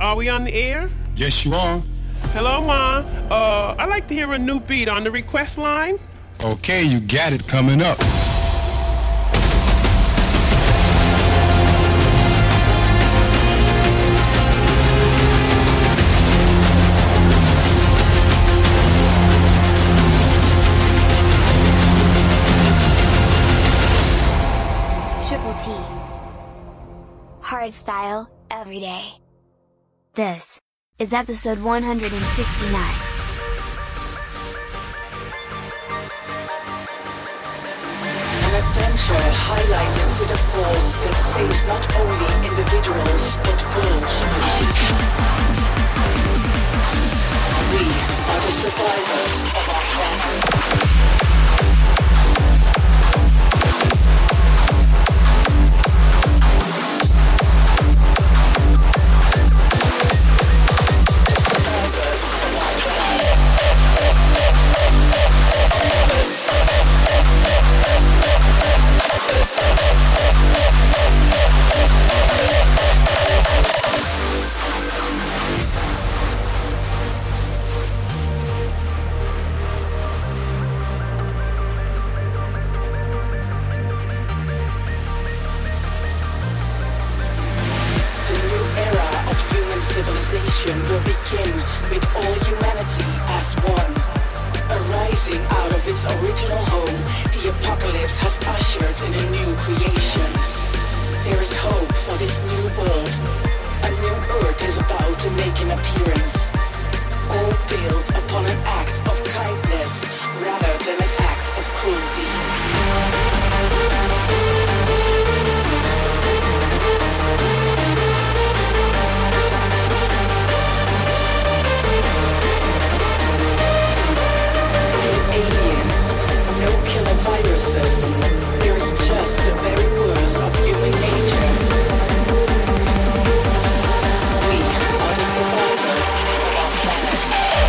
Are we on the air? Yes, you are. Hello, Ma. I'd like to hear a new beat on the request line. Okay, you got it coming up. Triple T. Hard style, every day. This is episode 169. An adventure highlighted with a force that saves not only individuals but worlds. We are the survivors of our planet. Civilization will begin with all humanity as one. Arising out of its original home, the apocalypse has ushered in a new creation. There is hope for this new world. A new earth is about to make an appearance. All built upon an act of kindness rather than an act of cruelty. Viruses. There is just the very worst of human nature. We are the survivors of our planet.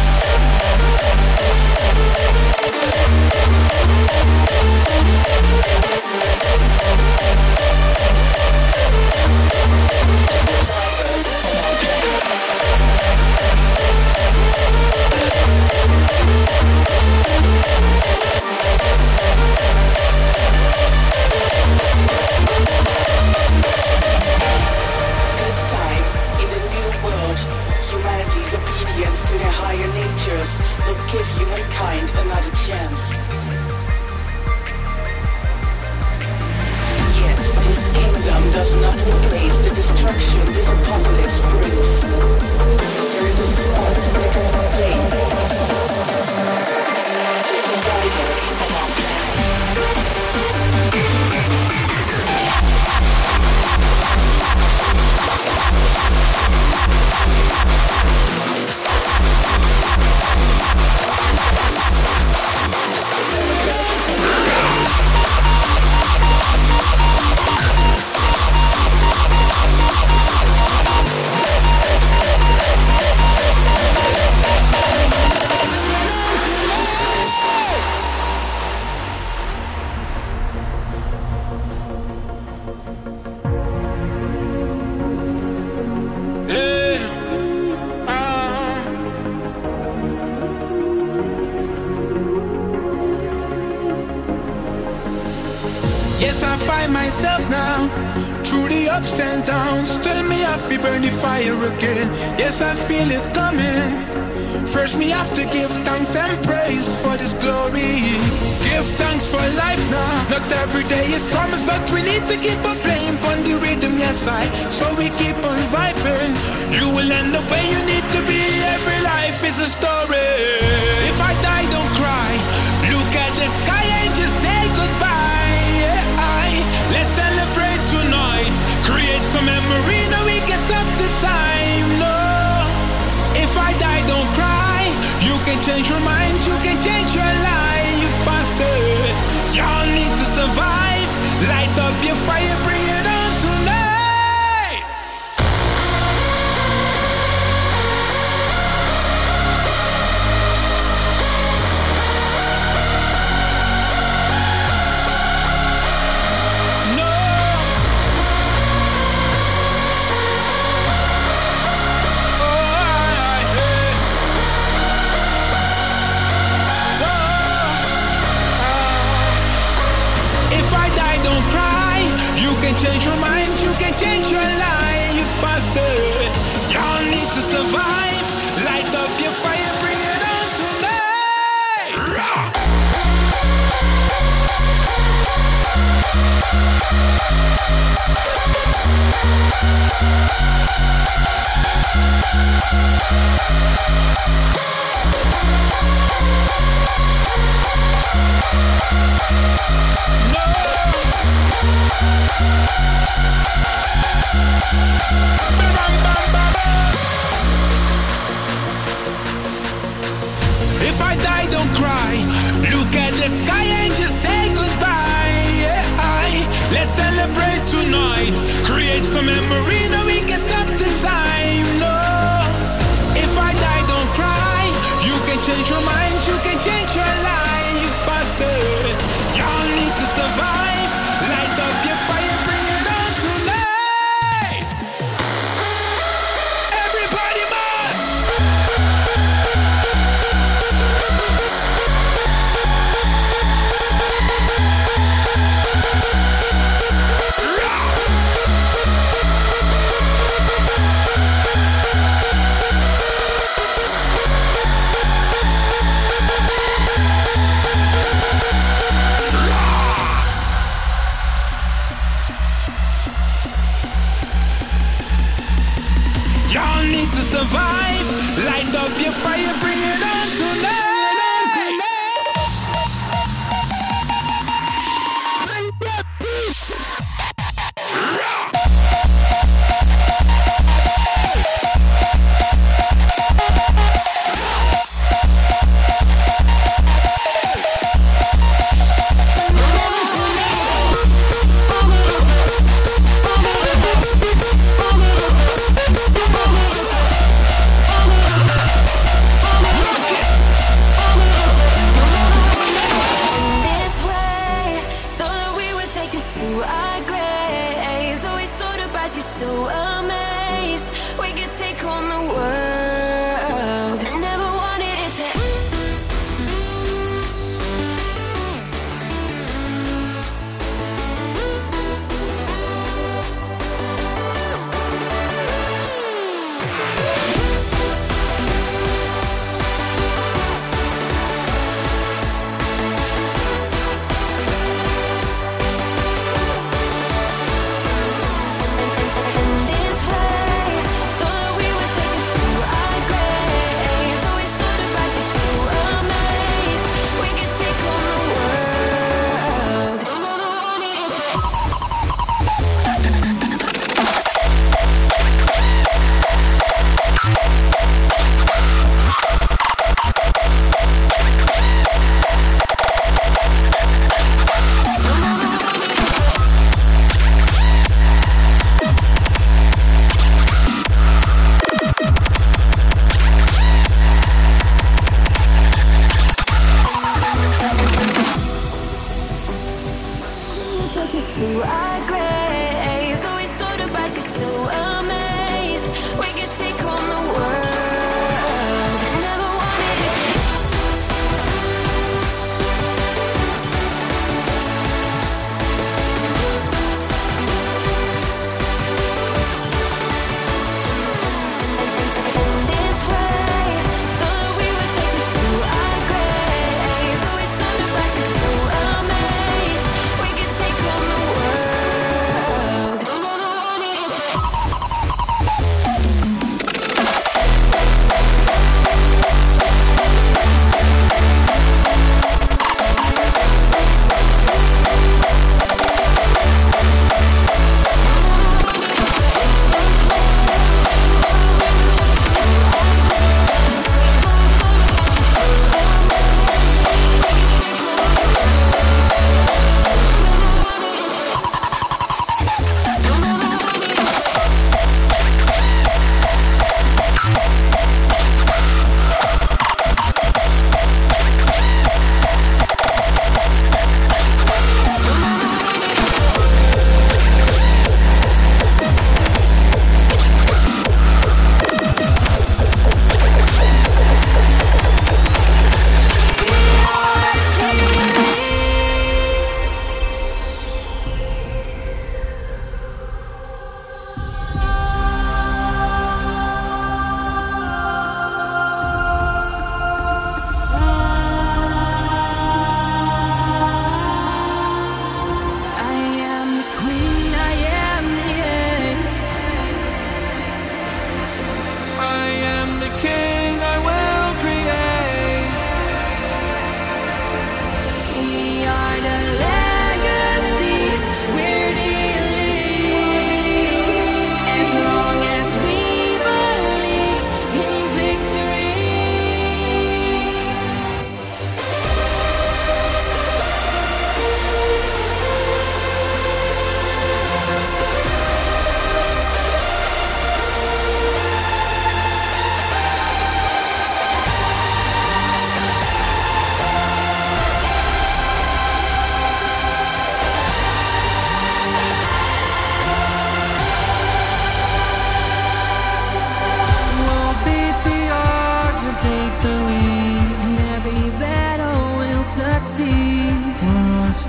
To their higher natures will give humankind another chance. Yet this kingdom does not replace the destruction this apocalypse brings. There is a small flicker of flame. The survivors of our myself now, through the ups and downs. Tell me I feel burn the fire again. Yes, I feel it coming. First me have to give thanks and praise for this glory. Give thanks for life now. Not every day is promised, but we need to keep on playing on the rhythm, yes I. So we keep on vibing. You will end up where you need to be. Every life is a story. If I die, don't cry. Look at the sky and just say goodbye. Let's celebrate tonight. Create some memories so we can stop the time. No, if I die, don't cry. You can change your mind, you can change your life. I said, y'all need to survive. Light up your fire, bring it on tonight. change your mind, you can change your life. I said, y'all need to survive. Light up your fire, bring it on tonight. If I die, don't cry. Look at the sky and just say goodbye. Yeah, let's celebrate tonight. Create some memories so we can stop the time. No, if I die, don't cry. You can change your mind, you can change your life. I said, y'all need to survive. Light up your fire, bring it on tonight. Everybody, man. Y'all need to survive. Light up your fire, bring it on tonight. This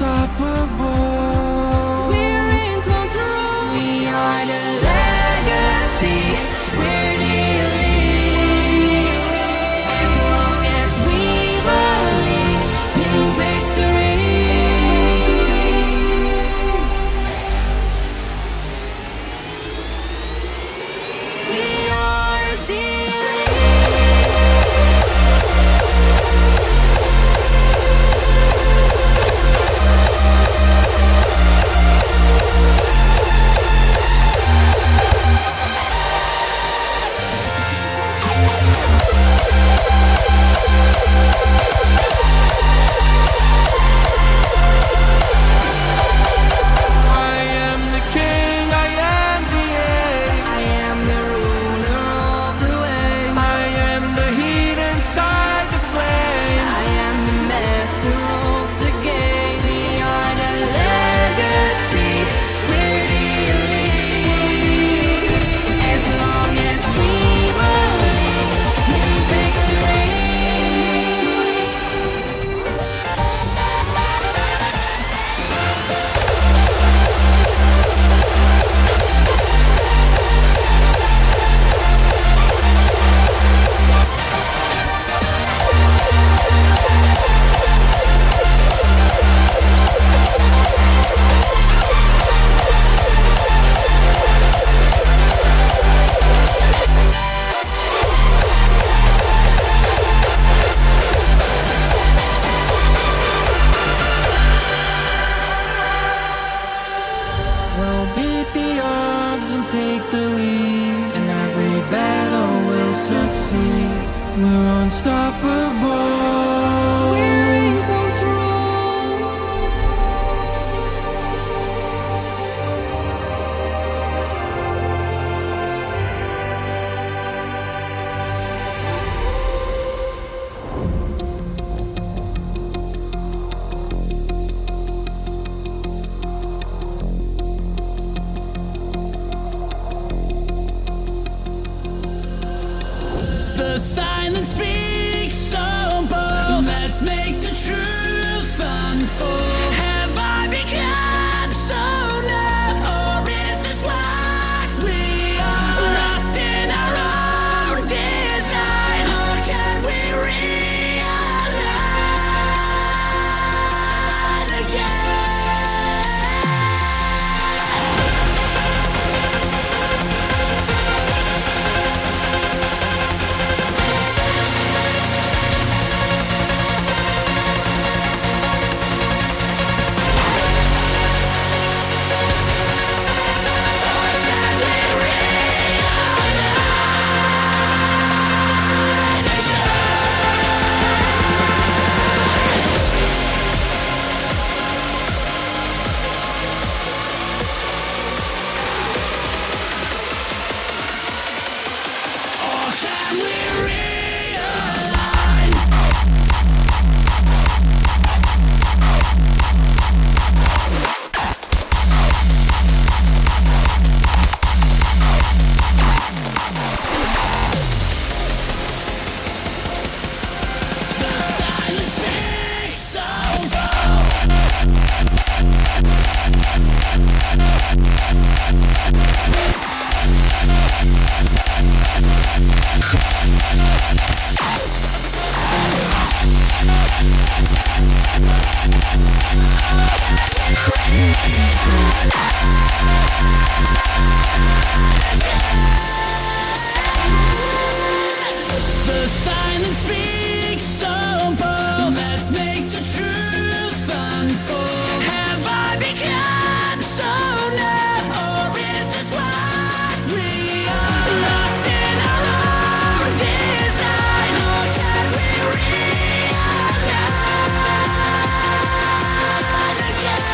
unstoppable. We're in control. We are the legacy. We're the elite. As long as we believe in victory. We are the silence speaks so bold. Let's make the truth unfold. Have I become so numb, or is this what we are? Lost in our own design, or can we realign again? The silence speaks so bold. Let's make the truth unfold. Have I become so numb, or is this what we are? Lost in our own design, or can we realign again?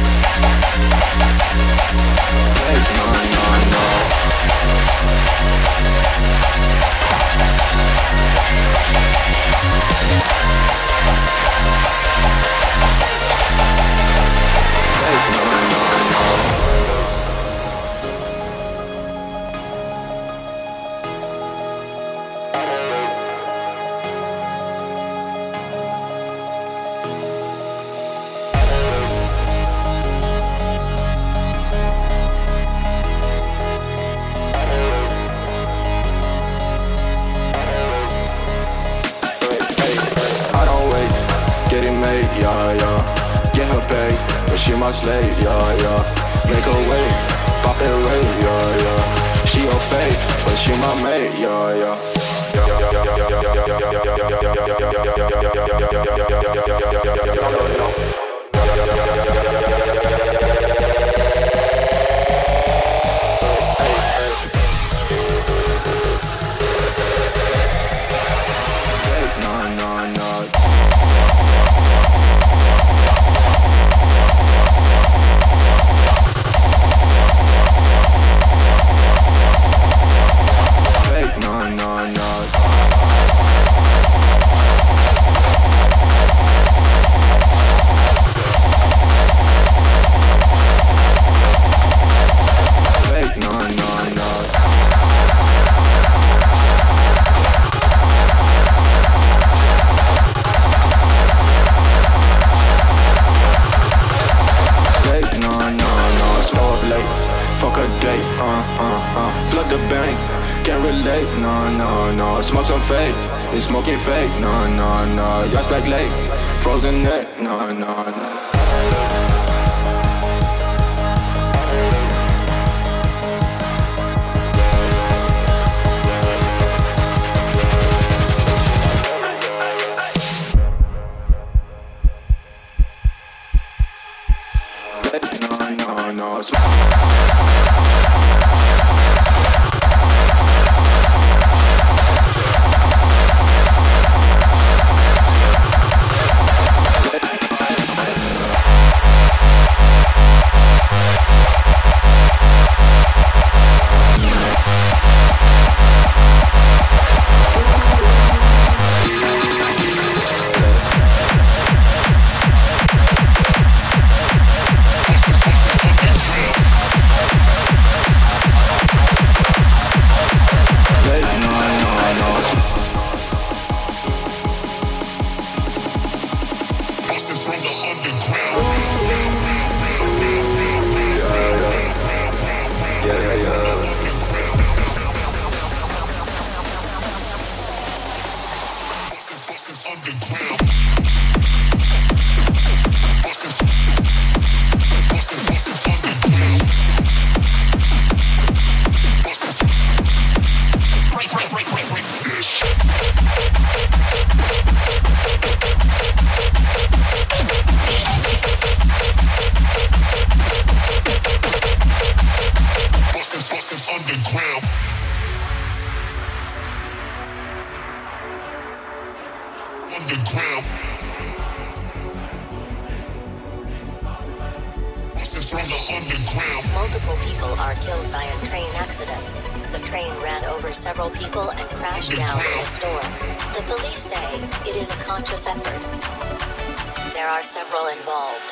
No. My slave, yeah, yeah. Make her wait, pop it rate, yeah, yeah. She your fake, but she my mate, yeah, yeah. Flood the bank, can't relate, no. Smoke some fake, they smoking fake, no. Yachts like lake, frozen neck, no. Multiple people are killed by a train accident. The train ran over several people and crashed down in a store. The police say it is a conscious effort. There are several involved.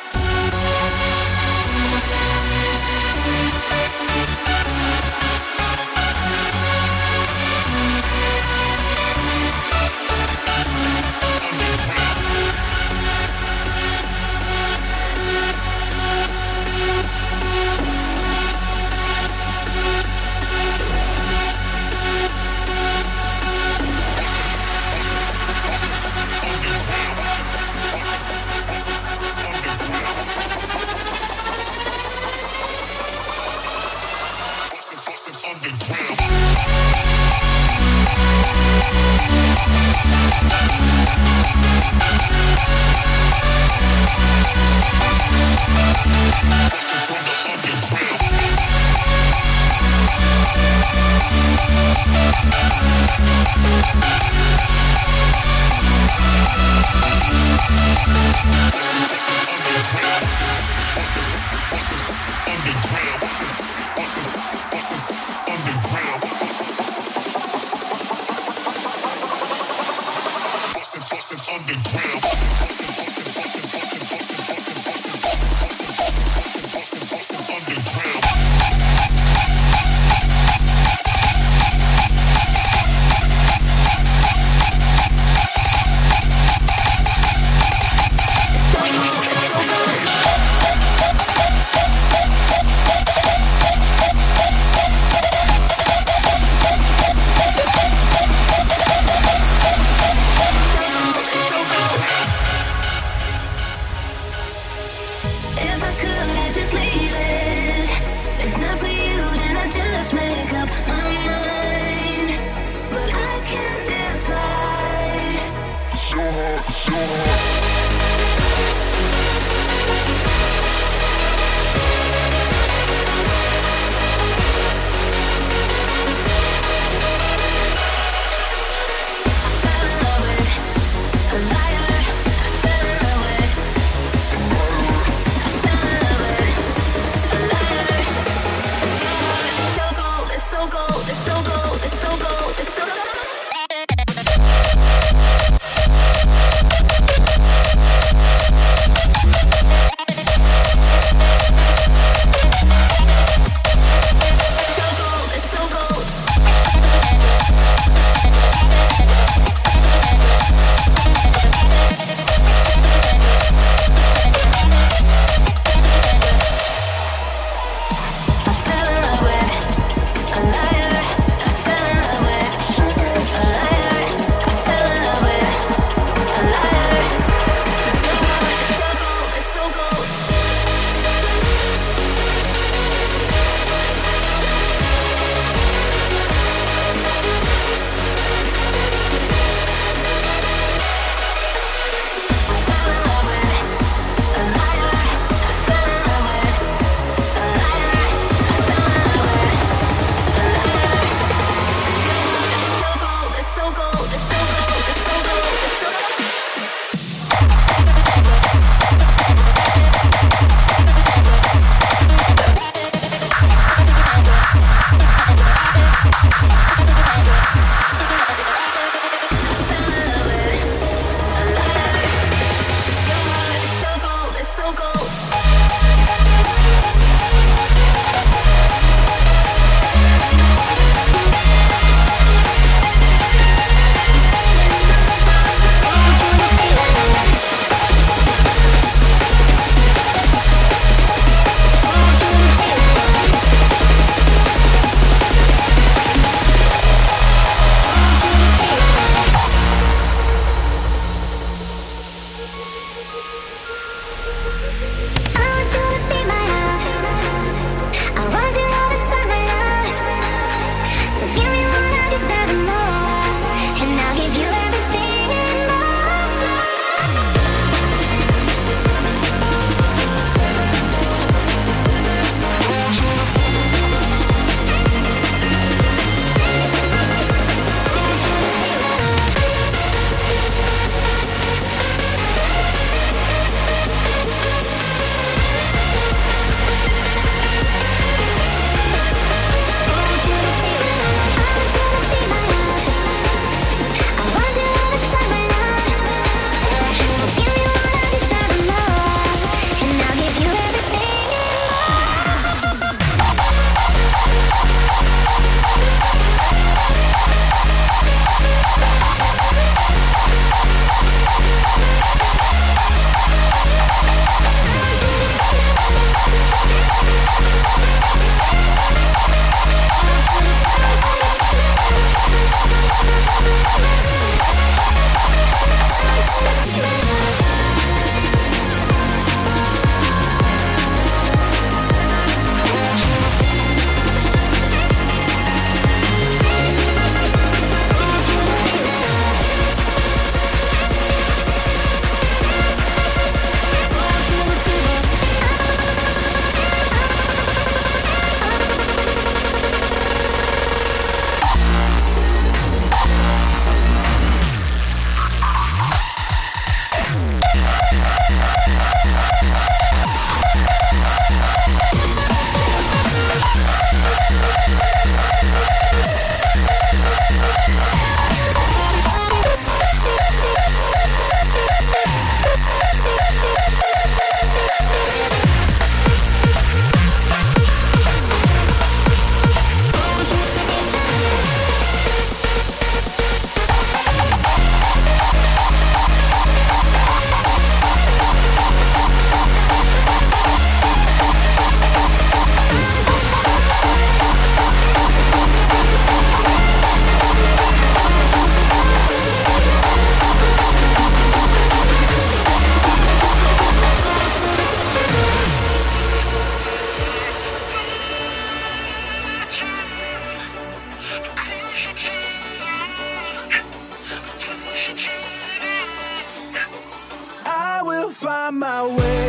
find my way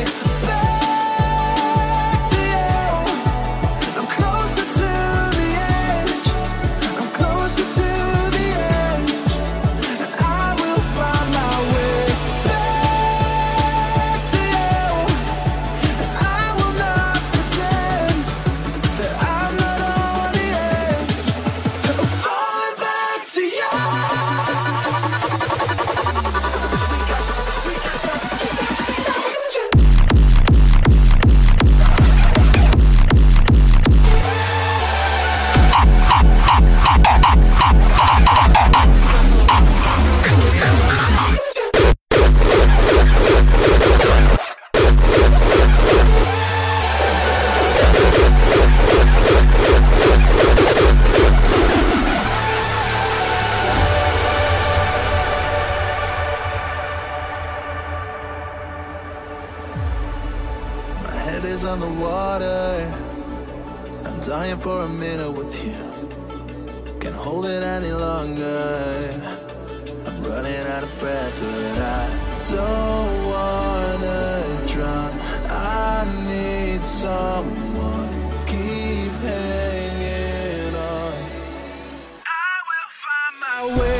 back to you. I'm closer to the edge. I'm closer to the edge. And I will find my way back to you. And I will not pretend that I'm not on the edge. I'm falling back to you. On the water, I'm dying for a minute with you. Can't hold it any longer. I'm running out of breath, but I don't wanna drown. I need someone to keep hanging on. I will find my way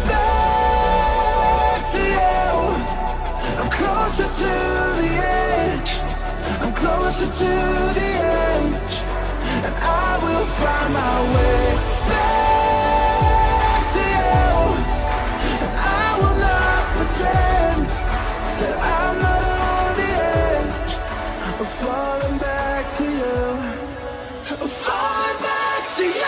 back to you. I'm closer to the edge. I'm closer to the edge, and I will find my way back to you. And I will not pretend that I'm not on the edge. I'm falling back to you. I'm falling back to you.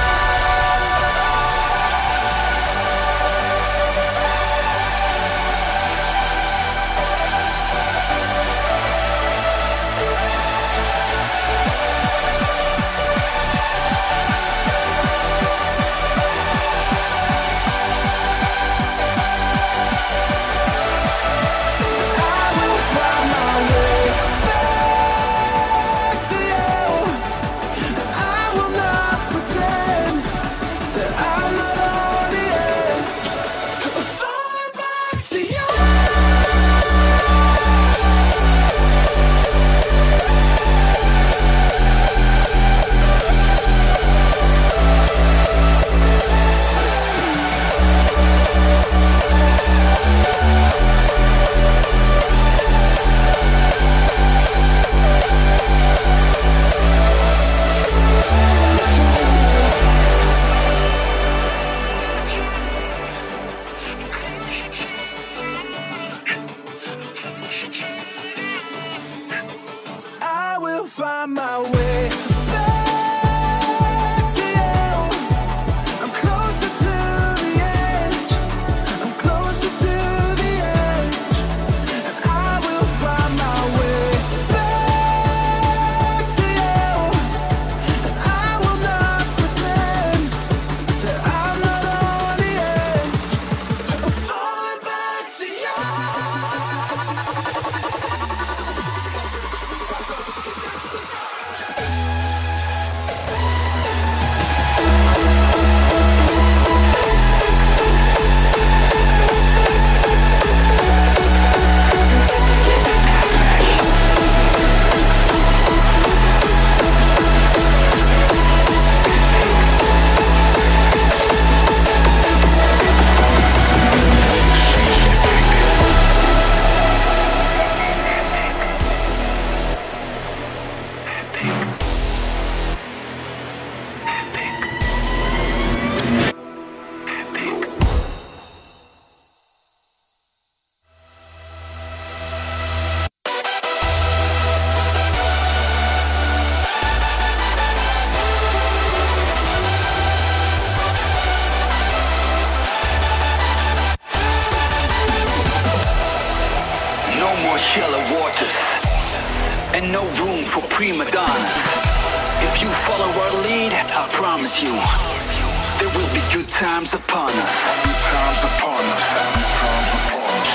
Find my way back to you. I'm closer to the edge. I'm closer to the edge. And I will find my way back to you. And I will not pretend that I'm not on the edge. I'm falling back to you. shallow waters and no room for prima donnas. If you follow our lead, I promise you, there will be good times upon us. Good times upon us. Good times upon us.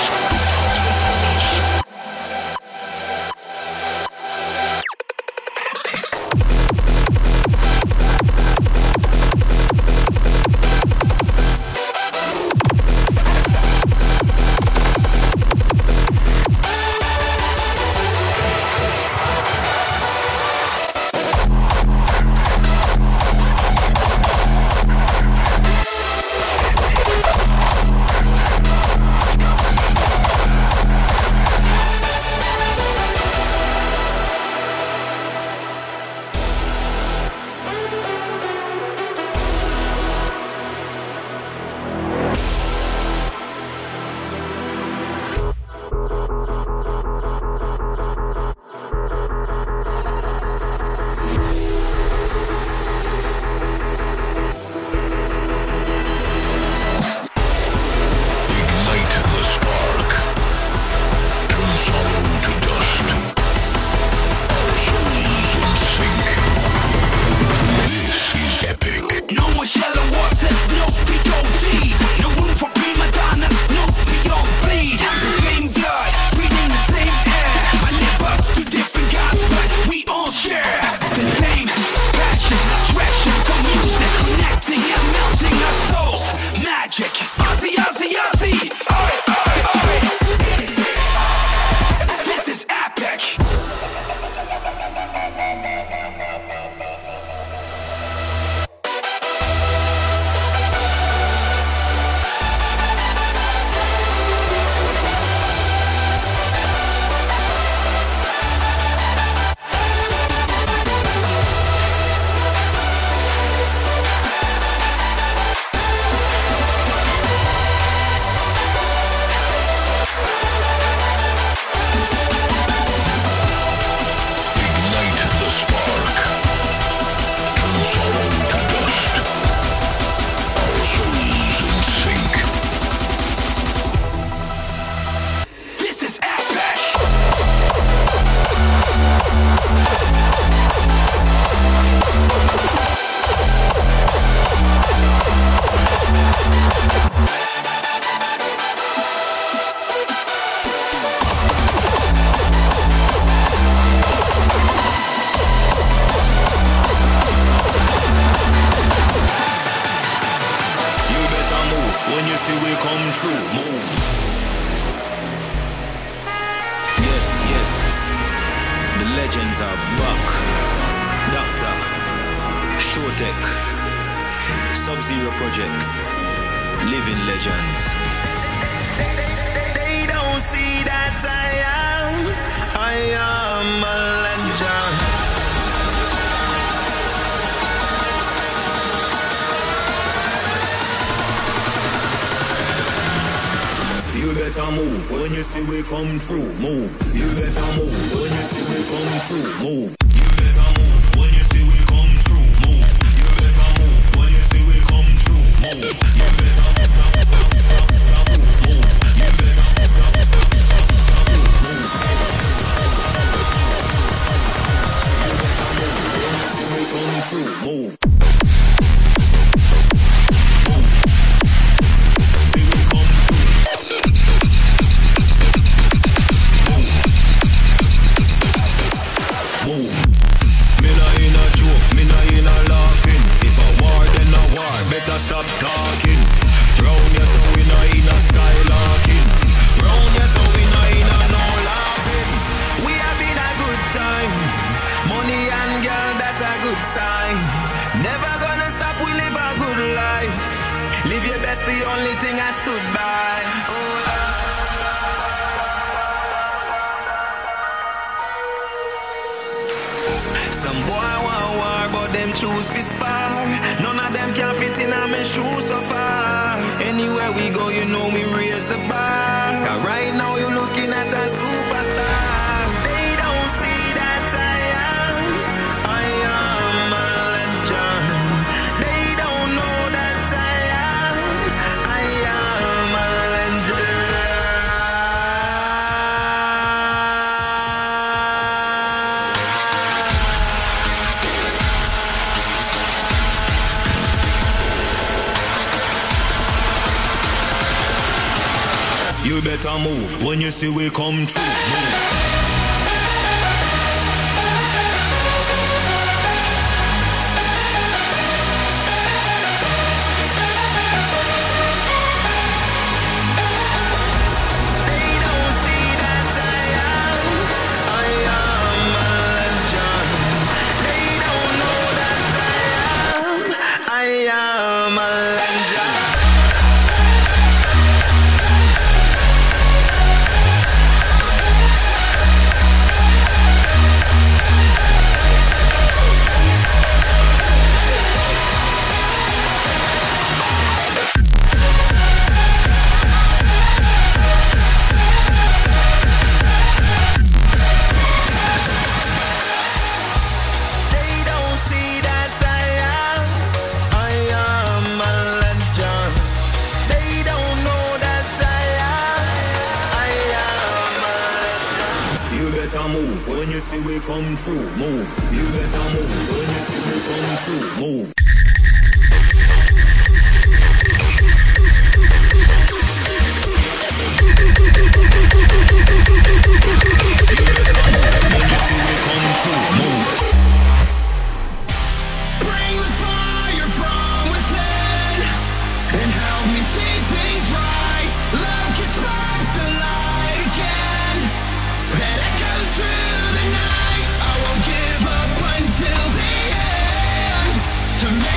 legends are back. Doctor, Showtech, Sub-Zero Project, Living Legends. They don't see that I am a legend. You better move when you see we come through. Move. You better move when you see we come through. Move. You better move when you see we come through. Move. You better move when you see we come through. Move. You better move. You better come through. Move. Stop talking. Round ya so we not in a skylarking. Round ya so we not in a no laughing. We having a good time. Money and girl, that's a good sign. Never gonna stop, we live a good life. Live your best, the only thing I stood by. Some boy want war, but them choose to spar. None of them can fit in my shoes so far. Anywhere we go, you know we raise the bar. Cause right now you're looking at a superstar. They don't see that I am a legend. They don't know that I am a legend. You better move when you see we come through. Move. Move when you see we come through. Move. You better move when you see we come through. Move. To me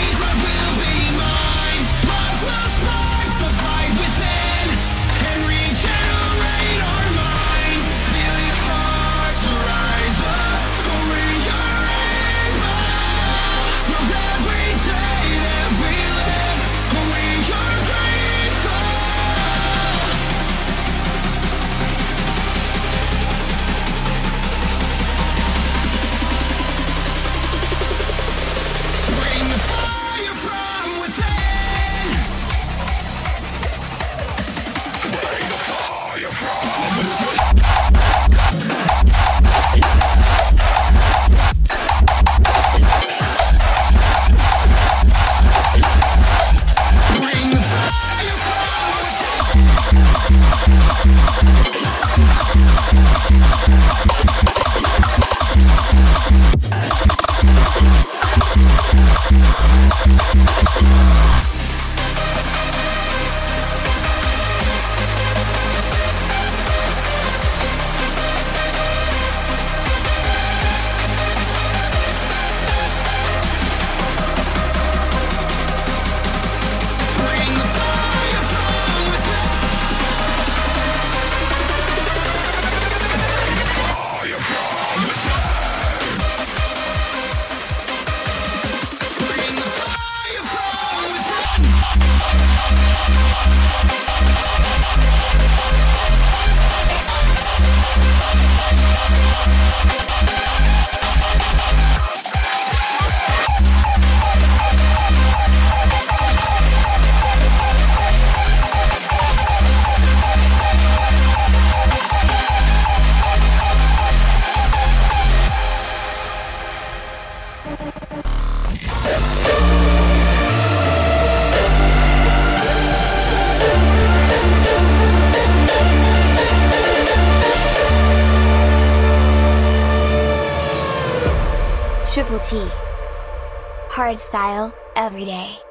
Triple T. Hardstyle, every day.